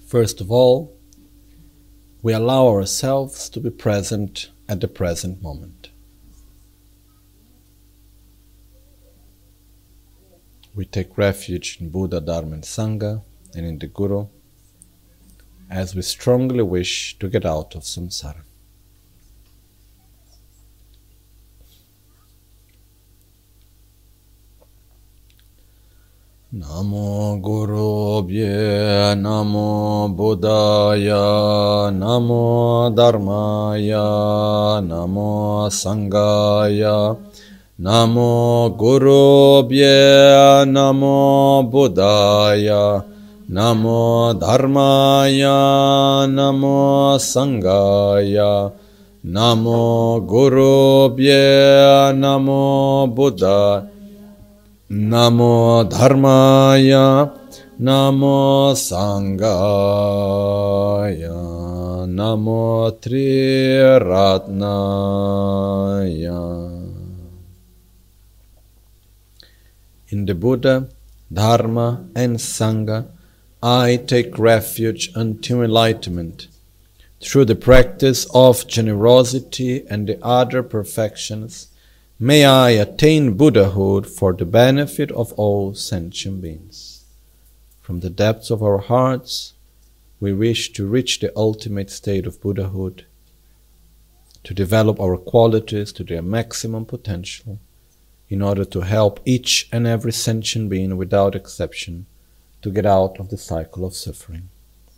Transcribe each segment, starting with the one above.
First of all, we allow ourselves to be present at the present moment. We take refuge in Buddha, Dharma and Sangha and in the Guru as we strongly wish to get out of samsara. Namo Guru Bhye, Namo Buddhaya, Namo Dharmaya, Namo Sanghaya, Namo Guru Bhye, Namo Buddhaya, Namo Dharmaya, Namo Sanghaya, Namo Guru Bhye, Namo Buddhaya, Namo Dharmaya, Namo Sanghaya, Namo Triratnaya. In the Buddha, Dharma and Sangha, I take refuge until enlightenment. Through the practice of generosity and the other perfections, may I attain Buddhahood for the benefit of all sentient beings. From the depths of our hearts, we wish to reach the ultimate state of Buddhahood, to develop our qualities to their maximum potential, in order to help each and every sentient being without exception to get out of the cycle of suffering.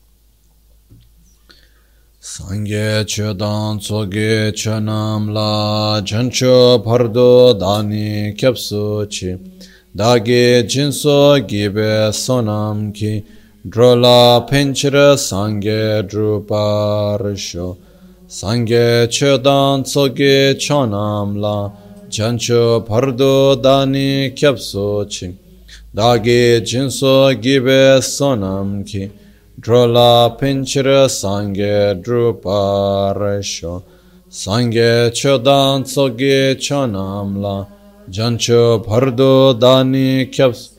Sangye chodan tsoge chonam la jancho pardo dani kyapso chi dage jinso gibe sonam ki drola penchira sangye druparsho Sangye chodan tsoge chonam la jancho pardo dani kyapso chi dage jinso gibe sonam ki Drola pinchira sangye druparasho Sangye chodan tsoge chonamla Jancho pardo dani kyaps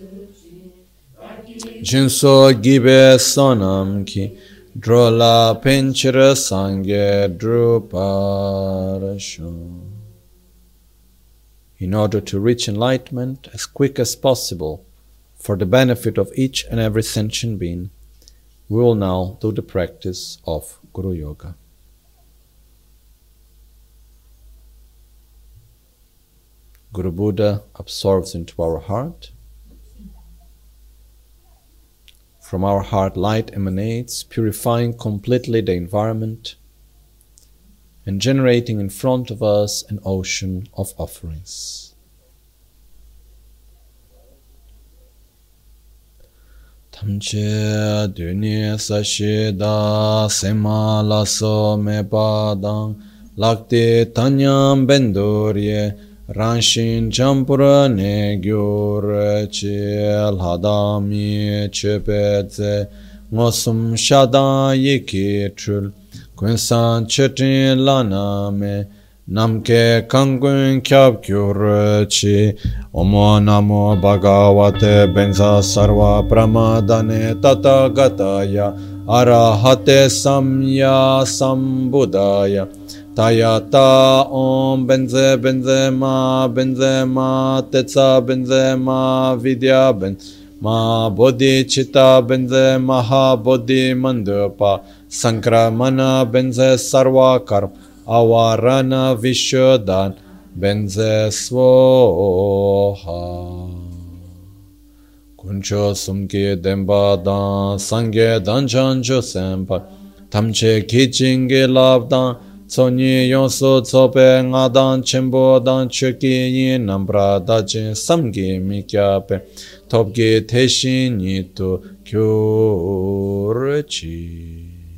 Jinso gibe sonam ki Drola pinchira sangye druparasho. In order to reach enlightenment as quick as possible for the benefit of each and every sentient being, we will now do the practice of Guru Yoga. Guru Buddha absorbs into our heart. From our heart, light emanates, purifying completely the environment and generating in front of us an ocean of offerings. Tamche duni sashida sema laso me padang lakti tanyam bendurye ranshin champura ne gyur chil hadami chepetse ngosum shada yiki trul kunsan chetin lana me Namke kangun kyab kyurchi Omo namo bhagavate benza sarva pramadane tatagataya arahate samya sambuddhaya tayata om benze ma tetsa benze ma vidya benze ma bodhi chitta benze maha bodhi mandapa sankramana benze sarva karma Avarana Vishodan Benze Svoha Kuncho Sumki Dembadan Sangye Danchancho Sempa Tamche Kichingi Labdan Tsonyi Yonso Tsope Ngadan Chembo Dan Choki Yin Nambra Dachin Samgi Mikyape Topki Teshin Yitu Kyurchi.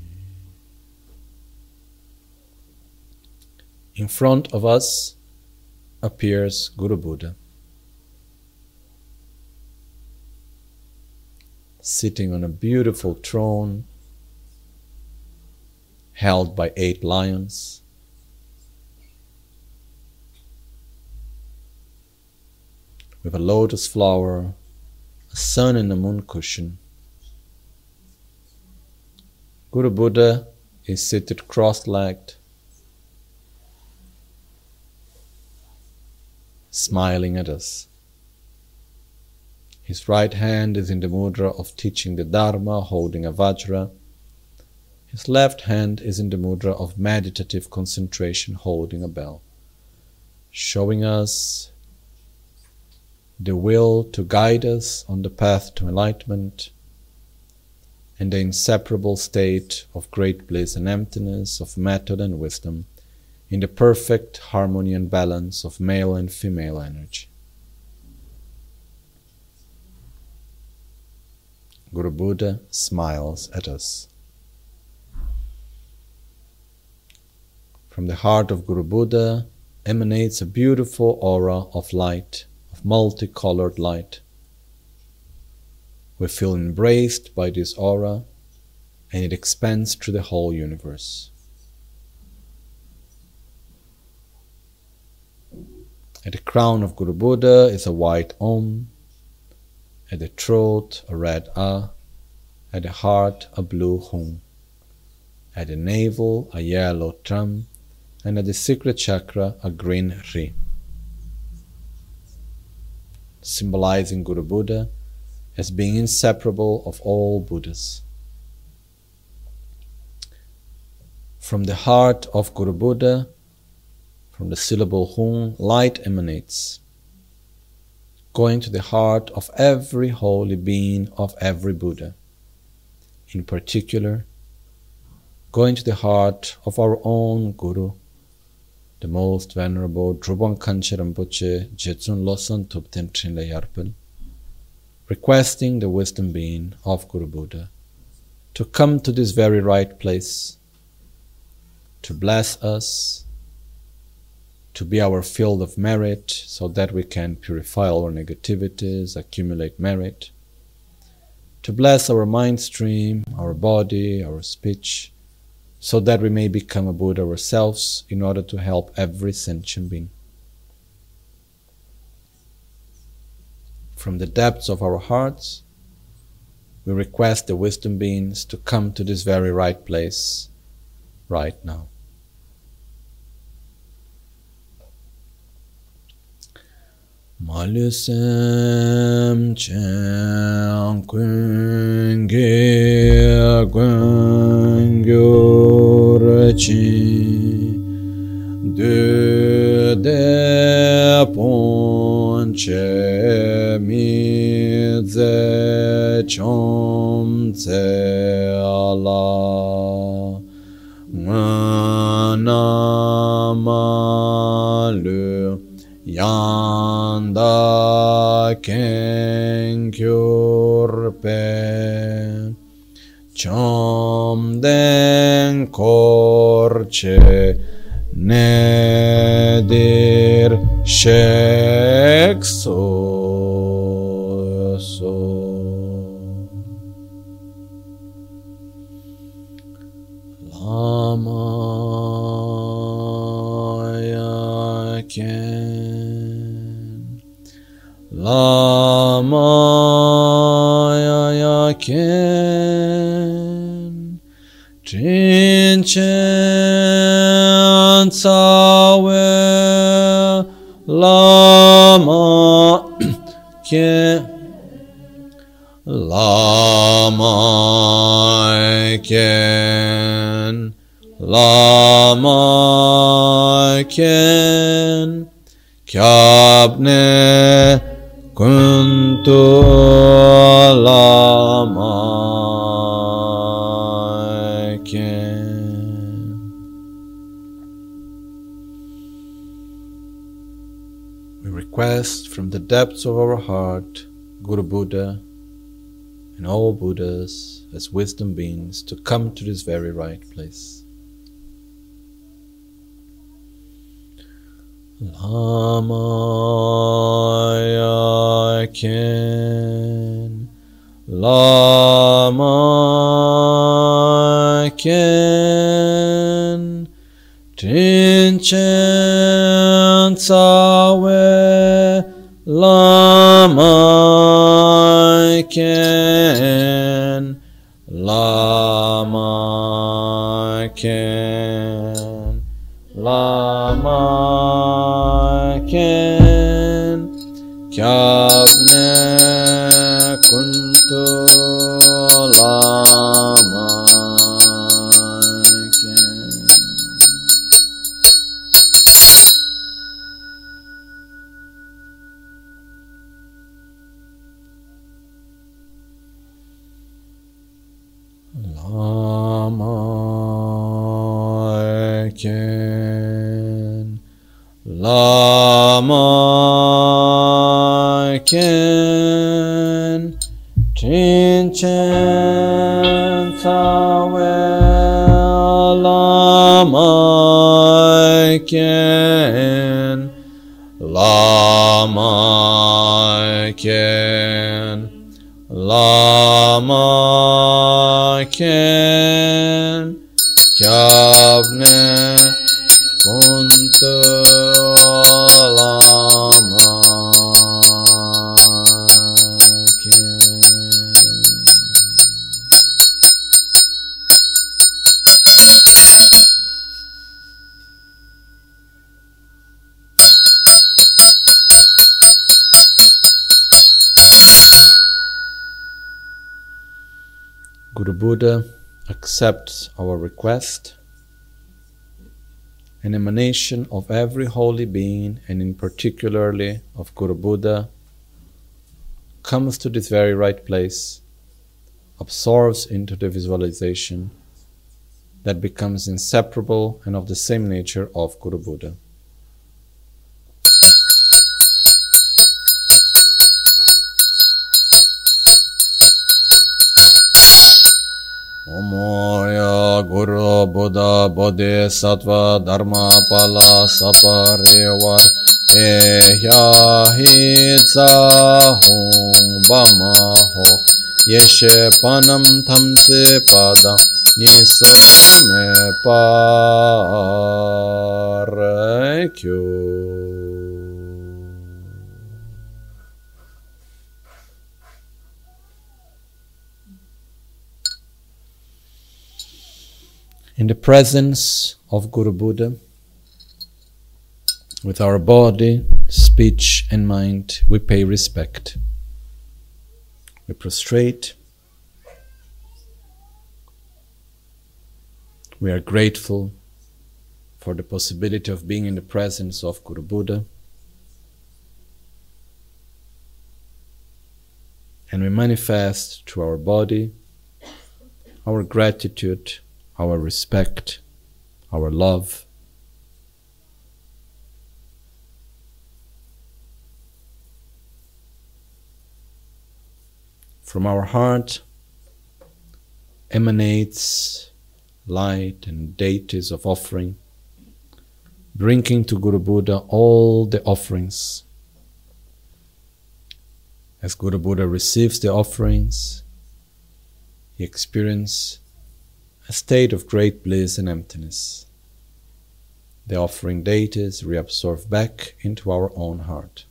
In front of us appears Guru Buddha, sitting on a beautiful throne held by 8 lions. With a lotus flower, a sun and a moon cushion, Guru Buddha is seated cross-legged, smiling at us. His right hand is in the mudra of teaching the Dharma, holding a Vajra. His left hand is in the mudra of meditative concentration, holding a bell, showing us the will to guide us on the path to enlightenment and the inseparable state of great bliss and emptiness, of method and wisdom, in the perfect harmony and balance of male and female energy. Guru Buddha smiles at us. From the heart of Guru Buddha emanates a beautiful aura of light, of multicolored light. We feel embraced by this aura, and it expands through the whole universe. At the crown of Guru Buddha is a white Om, at the throat a red A, at the heart a blue Hum, at the navel a yellow Tram, and at the secret chakra a green Ri, symbolizing Guru Buddha as being inseparable of all Buddhas. From the heart of Guru Buddha, from the syllable Hum, light emanates, going to the heart of every holy being of every Buddha. In particular, going to the heart of our own Guru, the most venerable Drubang Kanchen Rinpoche Jetsun Losang Tupten Trinle Yarpen, requesting the wisdom being of Guru Buddha to come to this very right place, to bless us, to be our field of merit so that we can purify our negativities, accumulate merit, to bless our mind stream, our body, our speech, so that we may become a Buddha ourselves in order to help every sentient being. From the depths of our hearts, we request the wisdom beings to come to this very right place right now. Malusem chen kun ge kun gyur chi de pon che mi ze chom tse ala na malu Yanda kenkyurpe Chom den korche nedir shekso Lama yaken Lama yaken Trinchen tsawe Lama ken Lama ken Lama ken Kyabne kuntu lama ken. We request from the depths of our heart Guru Buddha and all Buddhas as wisdom beings to come to this very right place. Lama yaken, Lama yaken, Trinchen tsawe, Lama yaken, Lama Ken, Lama Ken, Kyabne Kuntu Lama Ken. Lama Ken, Lama Ken, Chinchen Tawe Lama Ken, Lama Ken, Lama Ken, Kyabne Kuntu Lama Ken. Guru Buddha accepts our request. An emanation of every holy being, and in particularly of Guru Buddha, comes to this very right place, absorbs into the visualization that becomes inseparable and of the same nature of Guru Buddha. Omoya Guru Buddha Bodhisattva Dharma Pala Saparivar Ehya Hitsa Hong Bama Ho Yeshe Panam Tamse Pada Nisame Parekyo. In the presence of Guru Buddha, with our body, speech and mind, we pay respect. We prostrate. We are grateful for the possibility of being in the presence of Guru Buddha. And we manifest through our body our gratitude, our respect, our love. From our heart emanates light and deities of offering, bringing to Guru Buddha all the offerings. As Guru Buddha receives the offerings, he experiences a state of great bliss and emptiness. The offering deities reabsorb back into our own heart.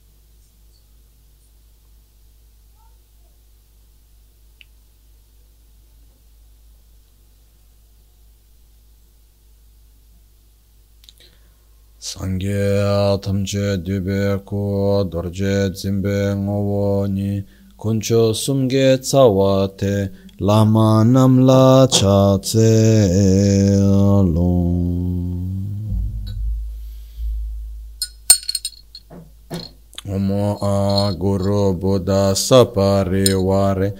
Sangye tamche dube ko dorje zimbe ngowoni kuncho sumge tsawate Lama namla cha tse long. Omo a Guru Buddha saparivare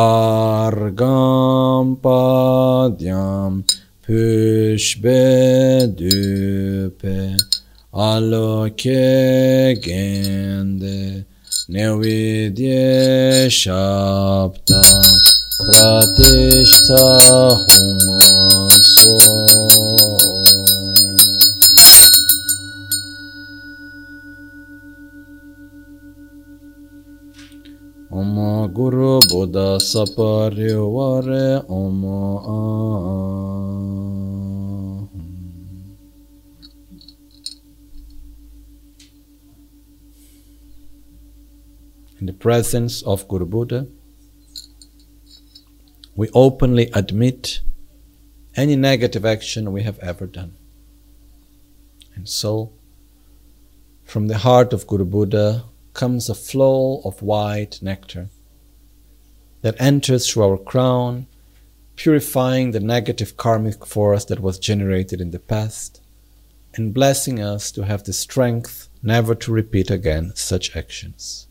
argam padyam pushbe dupe aloke gende nevidye shabda Pratishta Humaso. Om Guru Buddha Saparivare Om In the presence of Guru Buddha, we openly admit any negative action we have ever done. And so, from the heart of Guru Buddha comes a flow of white nectar that enters through our crown, purifying the negative karmic force that was generated in the past, and blessing us to have the strength never to repeat again such actions.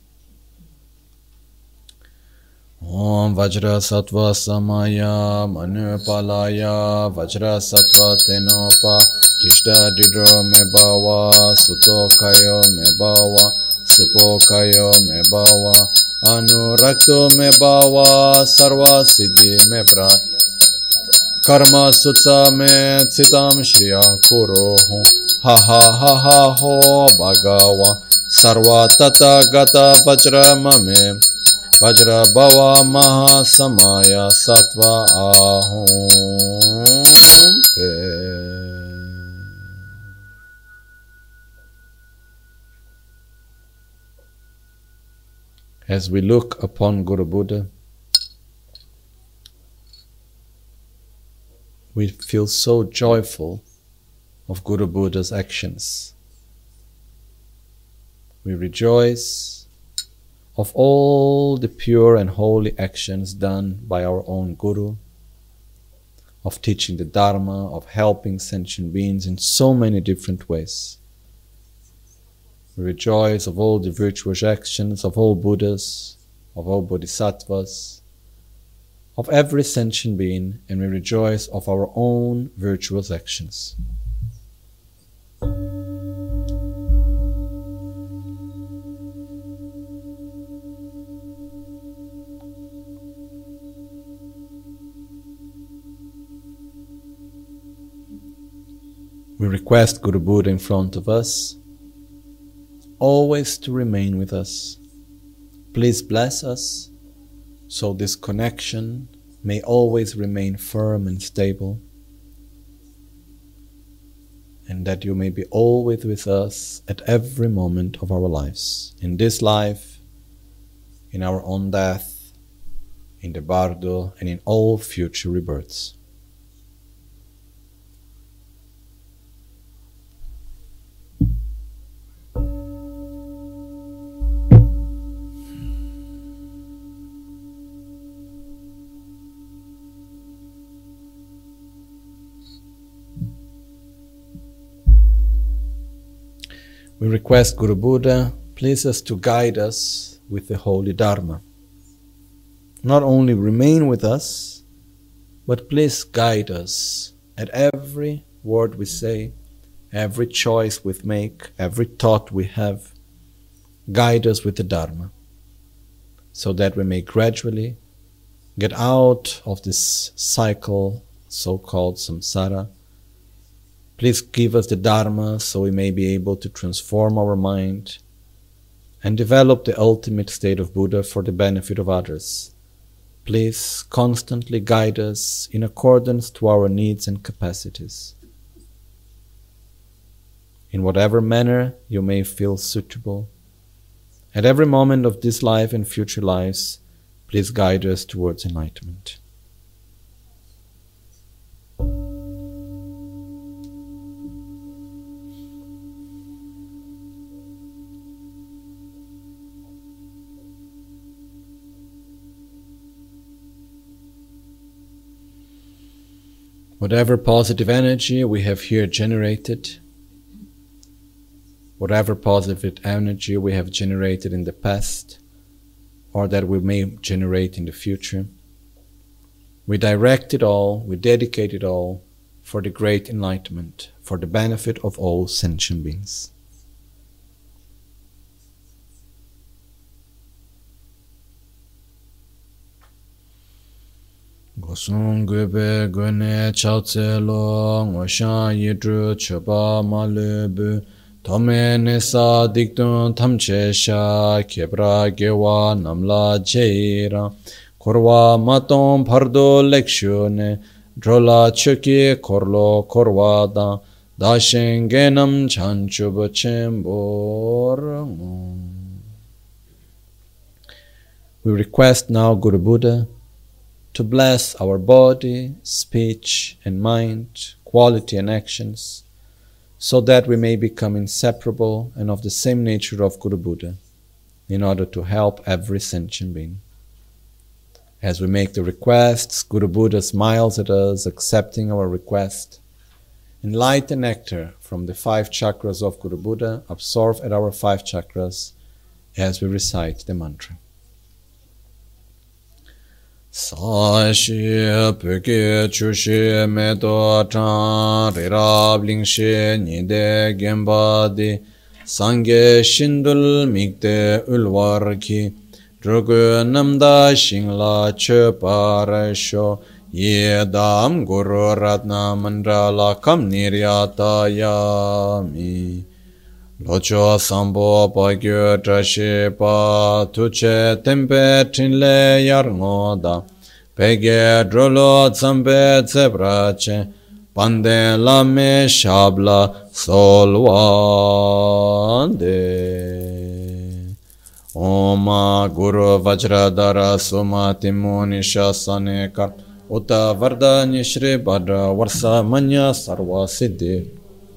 Om Vajra Sattva Samaya Manupalaya Vajra Sattva Tenopa Tishta Didro Mebawa Suto Kayo Mebawa Supo Kayo Mebawa Anurakto Mebawa Sarva Siddhi Mepra Karma Sutsa Me Tsitam Shriya Kuro Ha ha ha ha ho Bhagawa Sarva Tata Gata Vajra Mame Vajra Bhava Maha Samaya Sattva Ahom As we look upon Guru Buddha, we feel so joyful of Guru Buddha's actions. We rejoice of all the pure and holy actions done by our own Guru, of teaching the Dharma, of helping sentient beings in so many different ways. We rejoice of all the virtuous actions of all Buddhas, of all Bodhisattvas, of every sentient being, and we rejoice of our own virtuous actions. We request Guru Buddha in front of us, always to remain with us. Please bless us, so this connection may always remain firm and stable, and that you may be always with us at every moment of our lives, in this life, in our own death, in the Bardo, and in all future rebirths. We request Guru Buddha, please us to guide us with the holy Dharma. Not only remain with us, but please guide us at every word we say, every choice we make, every thought we have. Guide us with the Dharma, so that we may gradually get out of this cycle, so-called samsara. Please give us the Dharma so we may be able to transform our mind and develop the ultimate state of Buddha for the benefit of others. Please constantly guide us in accordance to our needs and capacities. In whatever manner you may feel suitable, at every moment of this life and future lives, please guide us towards enlightenment. Whatever positive energy we have here generated, whatever positive energy we have generated in the past, or that we may generate in the future, we direct it all, we dedicate it all for the great enlightenment, for the benefit of all sentient beings. Gosung gube gune chautse lo ngoshan yidru choba malubu tome nesa dikdun tamche sha kebra gewa namla cheira korwa maton pardo lekshune drola choki korlo korwada dashen genam chanchub chembor. We request now Guru Buddha to bless our body, speech, and mind, quality and actions, so that we may become inseparable and of the same nature of Guru Buddha, in order to help every sentient being. As we make the requests, Guru Buddha smiles at us, accepting our request, and light and nectar from the 5 chakras of Guru Buddha absorb at our 5 chakras as we recite the mantra. Sa-shi peke chu-shi me-do-chan ri-rab-ling-shi ni-de genpa-di Sangye shindul mikde ulwar-ki Drugu namda shingla che-pa-ra-sho Ye-dam guru ratna mandala kam niryata-ya-mi Locho sambo pa-gyo tra-shi-pa Tu-che tempe trin-le yar-ngo-da Pege drolo tsampe tse-pra-che Pande lame shabla solvande Oma guru vajradara sumati muni shasane kar Uta vardani shri badra varsa manya sarva siddhi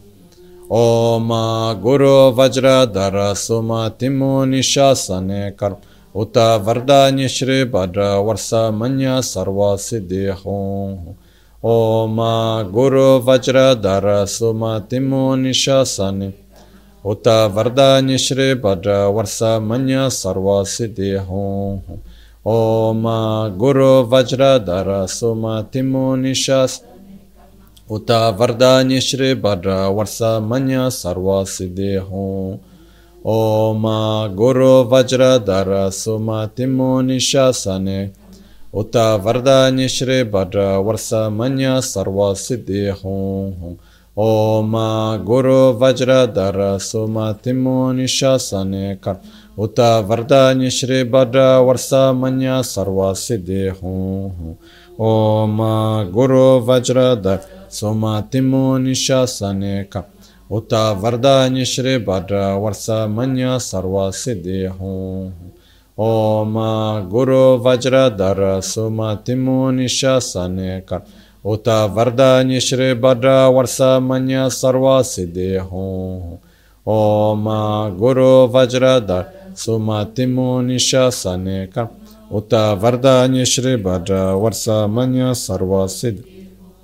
Oma guru vajradara sumati muni shasane kar Uta vardani shri badra varsa manya sarva siddhi hong Oma guru vajradara sumati muni shasane Uta vardani shri badra varsa manya sarva siddhi hong Oma guru vajradara sumati muni shasane Uta vardani shri badra varsa manya sarva siddhi hong Oma guru vajradara sumati muni shasane Uta vardani shri badra varsa manya sarva siddhi hong Oma guru vajradara sumati muni shasane kar Uta vardani shri badra varsa manya sarva siddhi hong Oma guru vajradara sumati muni shasane kar Uta vardani shri badra varsa manya sarva siddhi hong Oma guru vajradara sumati muni shasane kar Uta vardani shri badra varsa manya sarva siddhi hong Oma guru vajradara sumati muni shasane kar Uta vardani shri badra varsa manya sarva siddhi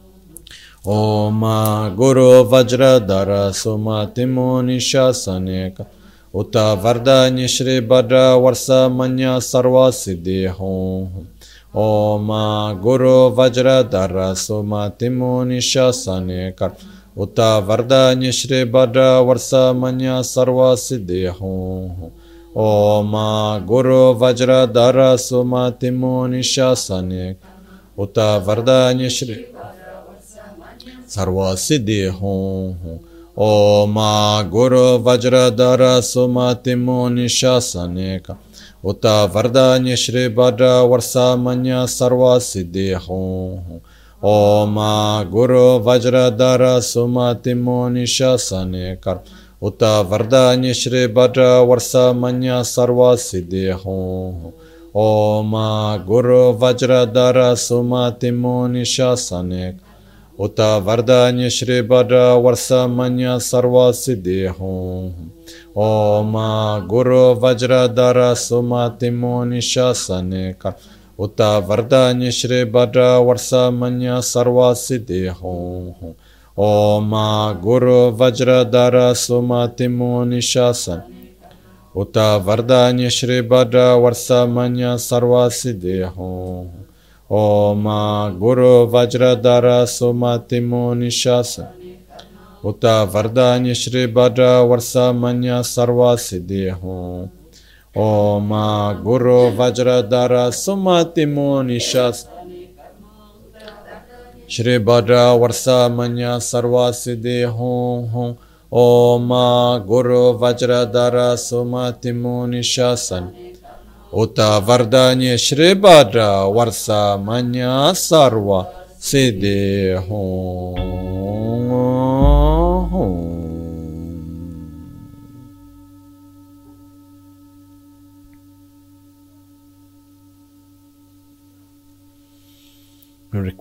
Oma guru vajradara sumati muni shasane kar Uta vardani shri badra varsa manya sarva siddhi hong Oma guru vajradara sumati muni shasane kar Uta vardani shri badra varsa manya sarva siddhi hong Oma guru vajradara sumati muni shasane Uta vardani shri sarva siddhi hong Oma guru vajradara sumati muni shasane kar Uta vardani shri badra varsa manya sarva siddhi hong Oma guru vajradara sumati muni shasane kar Uta vardani shri badra varsa manya sarva siddhi hong Oma guru vajradara sumati muni shasane kar Uta vardani shri badra varsa manya sarva siddhi hong Oma guru vajradara sumati muni shasane kar Uta vardani shri badra varsa manya sarva siddhi hong Oma guru vajradara sumati muni shasane Uta vardani shri badra varsa manya sarva siddhi hong Oma guru vajradara sumati muni shasane Uta vardani shri badra varsa manya sarva siddhi hong Oma guru vajradara sumati muni shasane Shri badra varsa manya sarva siddhi hong Oma guru vajradara sumati muni shasane Uta vardani shri badra varsa manya sarva siddhi hong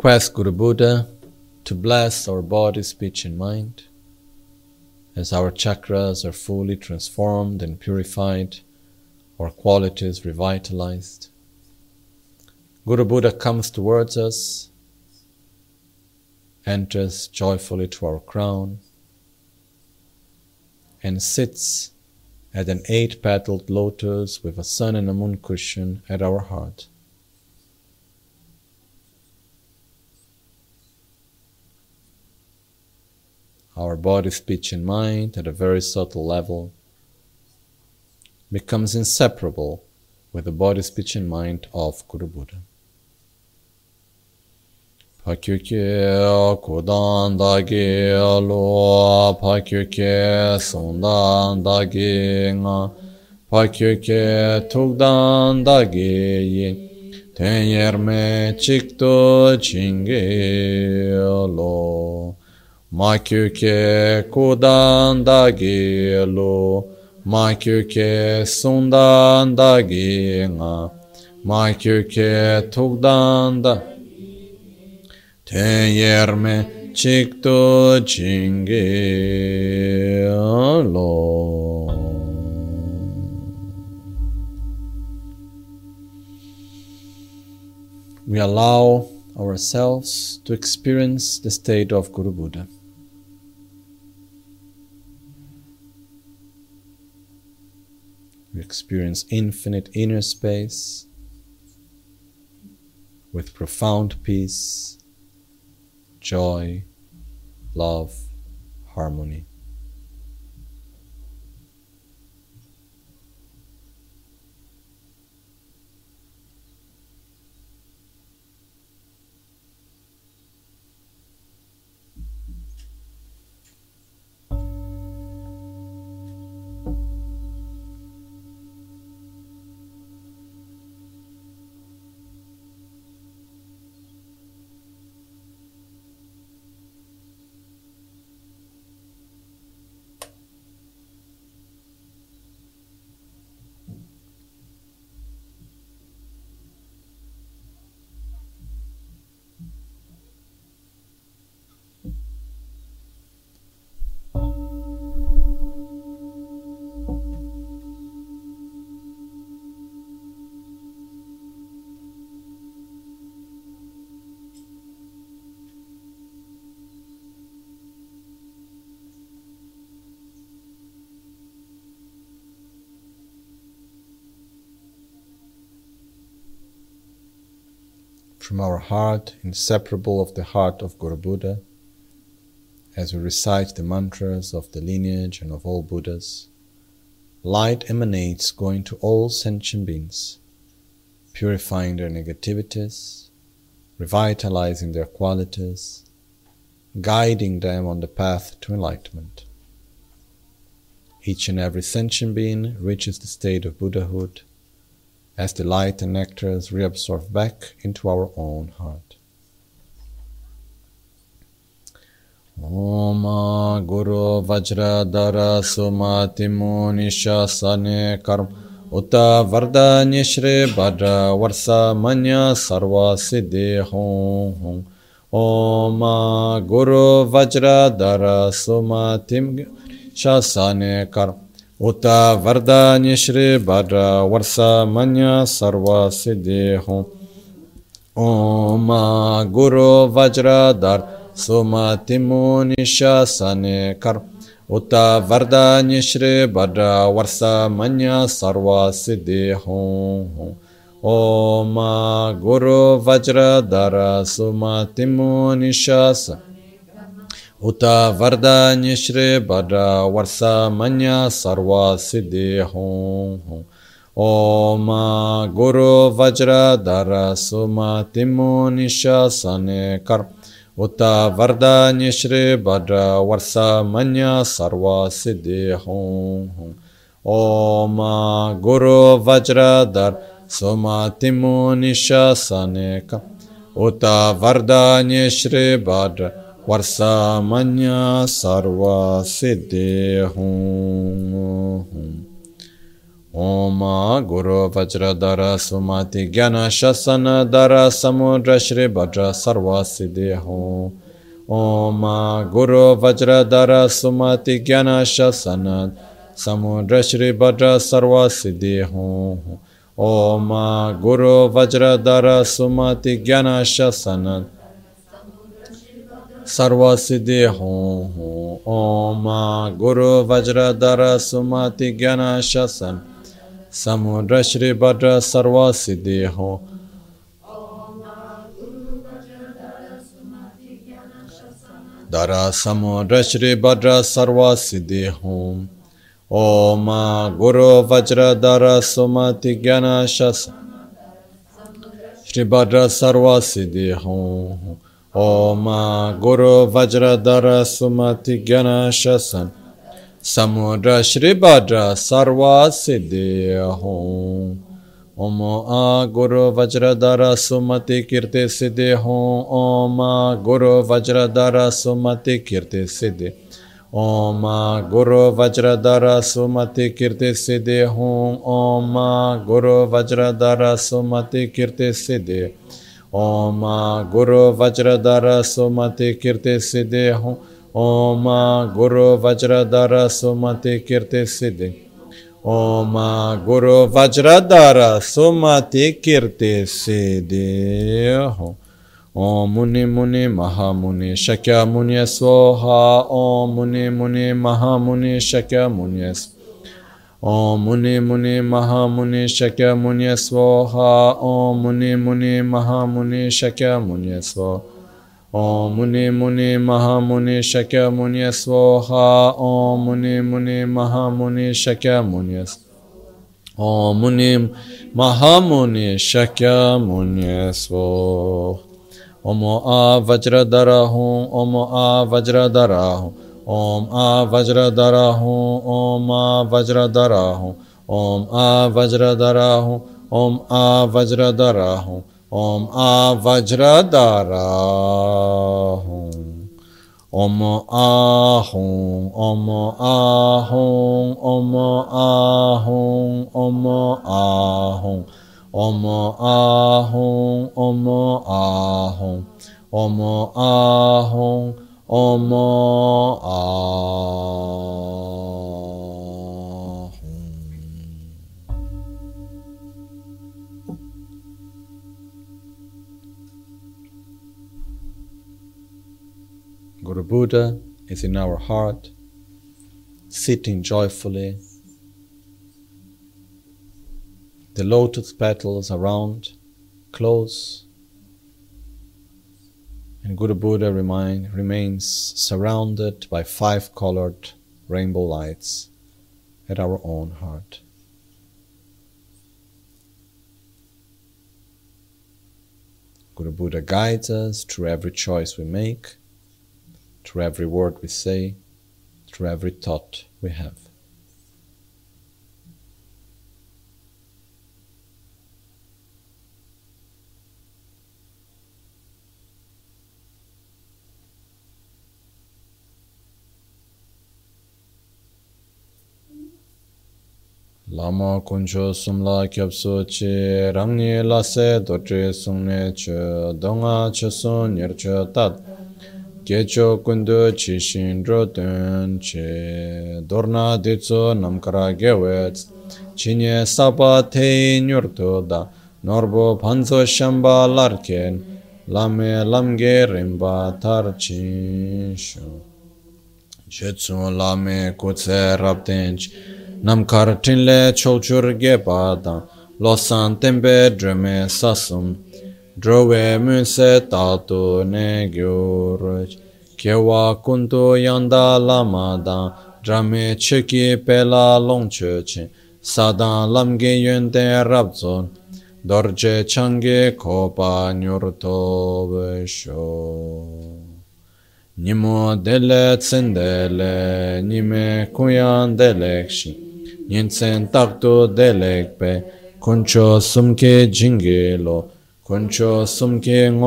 request Guru Buddha to bless our body, speech and mind as our chakras are fully transformed and purified, our qualities revitalized. Guru Buddha comes towards us, enters joyfully to our crown, and sits at an 8-petaled lotus with a sun and a moon cushion at our heart. Our body, speech and mind at a very subtle level becomes inseparable with the body, speech and mind of Guru Buddha. Pakyukye kudan dagi lo, pakyukye sundan dagi nga, pakyukye tukdan dagi yin, tenyerme chikto chingi lo. Makyukye kudan dagi lo, makyukye sundan dagi nga, makyukye tukdan dagi tenyerme chikto chingi lo. We allow ourselves to experience the state of Guru Buddha. We experience infinite inner space with profound peace, joy, love, harmony. From our heart, inseparable of the heart of Guru Buddha, as we recite the mantras of the lineage and of all Buddhas, light emanates going to all sentient beings, purifying their negativities, revitalizing their qualities, guiding them on the path to enlightenment. Each and every sentient being reaches the state of Buddhahood as the light and nectar is reabsorbed back into our own heart. Om Guru Vajradhara Sumati Munisha Sane Karm Uta Vardanya Shri Bhadra Varsa Manya Sarva Siddhi Hum Om Guru Vajradhara Sumati Munisha Sane Karm Uta Vardanya Shri Bhadra Varsa Manya Sarva Siddhi Hum Om Guru Vajradhara Sumati Munisha Sane Kar Uta Vardanya Shri Bhadra Varsa Manya Sarva Siddhi Hum Om Guru Vajradhara Sumati Munisha Sane Uta Vardanya Shri Bhadra Varsa Manya Sarva Siddhi Hum Om Guru Vajradhara Sumati Munisha Sane Kar Uta Vardanya Shri Bhadra Varsa Manya Sarva Siddhi Hum Om Guru Vajradhara Sumati Munisha Sane Kar Uta Vardanya Shri Bhadra Varsa Manya Sarva Siddhi Hum Om Guru Vajradhara Sumati Gyana Shasana Dara Samudra Shri Bhadra Sarva Siddhi Hum. Om Guru Vajradhara Sumati Gyana Shasana Samudra Shri Bhadra Sarva Siddhi Hum. Om Guru Vajradhara Sumati Gyana Shasana Sarva Siddhi Hum. Om Guru Vajradhara Sumati Gyana Shasana Samudra Shri Bhadra Sarva Siddhi Hum. Dara Samudra Shri Bhadra Sarva Siddhi Hum. Om Guru Vajradhara Sumati Gyana Shasana Shri Bhadra Sarva Siddhi Hum. Om Guru Vajradhara Sumati Gyana Shasana Samudra Shri Bhadra Sarva Siddhi Hum. Om Guru Vajradhara Sumati Kirti Siddhi Hum. Om Guru Vajradhara Sumati Kirti Siddhi. Om Guru Vajradhara Sumati Kirti Siddhi Hum. Om Guru Vajradhara Sumati Kirti Siddhi. Om Guru Vajradhara Sumati Kirti Siddhi Hum. Om Guru Vajradhara Sumati Kirti Siddhi. Om Guru Vajradhara Sumati Kirti Siddhi Hum. Om Muni Muni Mahamuni Shakya Muni Swaha. Om Muni Muni Mahamuni Shakya Muni Swaha. Om Muni Muni Mahamuni Shakya Muni Swaha. Om Muni Muni Mahamuni Shakya Muni Swaha. Om Muni Muni Mahamuni Shakya Muni Swaha. Om Muni Muni Mahamuni Shakya Muni Swaha. Om Muni Mahamuni Shakya Muni Swaha. Om Vajradhara Hum. Om Vajradhara Hum. Om Vajradhara Hum. Om Vajradhara Hum. Om Vajradhara Hum. Om Vajradhara Hum. Om Vajradhara Hum. Om Ahum. Om Ahum. Om Ahum. Om Ahum. Om Ahum. Om Ahum. Om Ahum. Om Ahum. Guru Buddha is in our heart, sitting joyfully. The lotus petals around, close, and Guru Buddha remains surrounded by 5-colored rainbow lights at our own heart. Guru Buddha guides us through every choice we make, through every word we say, through every thought we have. Lama kuncho sumla kyabso chi rangni lase dotri sungne che donga che sun nyer che tat gecho kundu chi shindro dun che dorna ditso namkara gewetz chinye sapa te nyurto da norbo panzo shamba larken lame lamge rimba tar chinsho chetsu lame kutse rabtench Namkar tinle chochur gepada, losan tembe dreme sasum, drove munse tatu ne gyurj, kewa kuntu yanda lamada, drame cheki pela longcheche, sadan lamge yunde rabzon, dorje change kopa nyurto vesho. Nimo dele tsendele, nime kuyan delekshi, Nyensen takto delekpe, kuncho sumke jingelo, kuncho sumke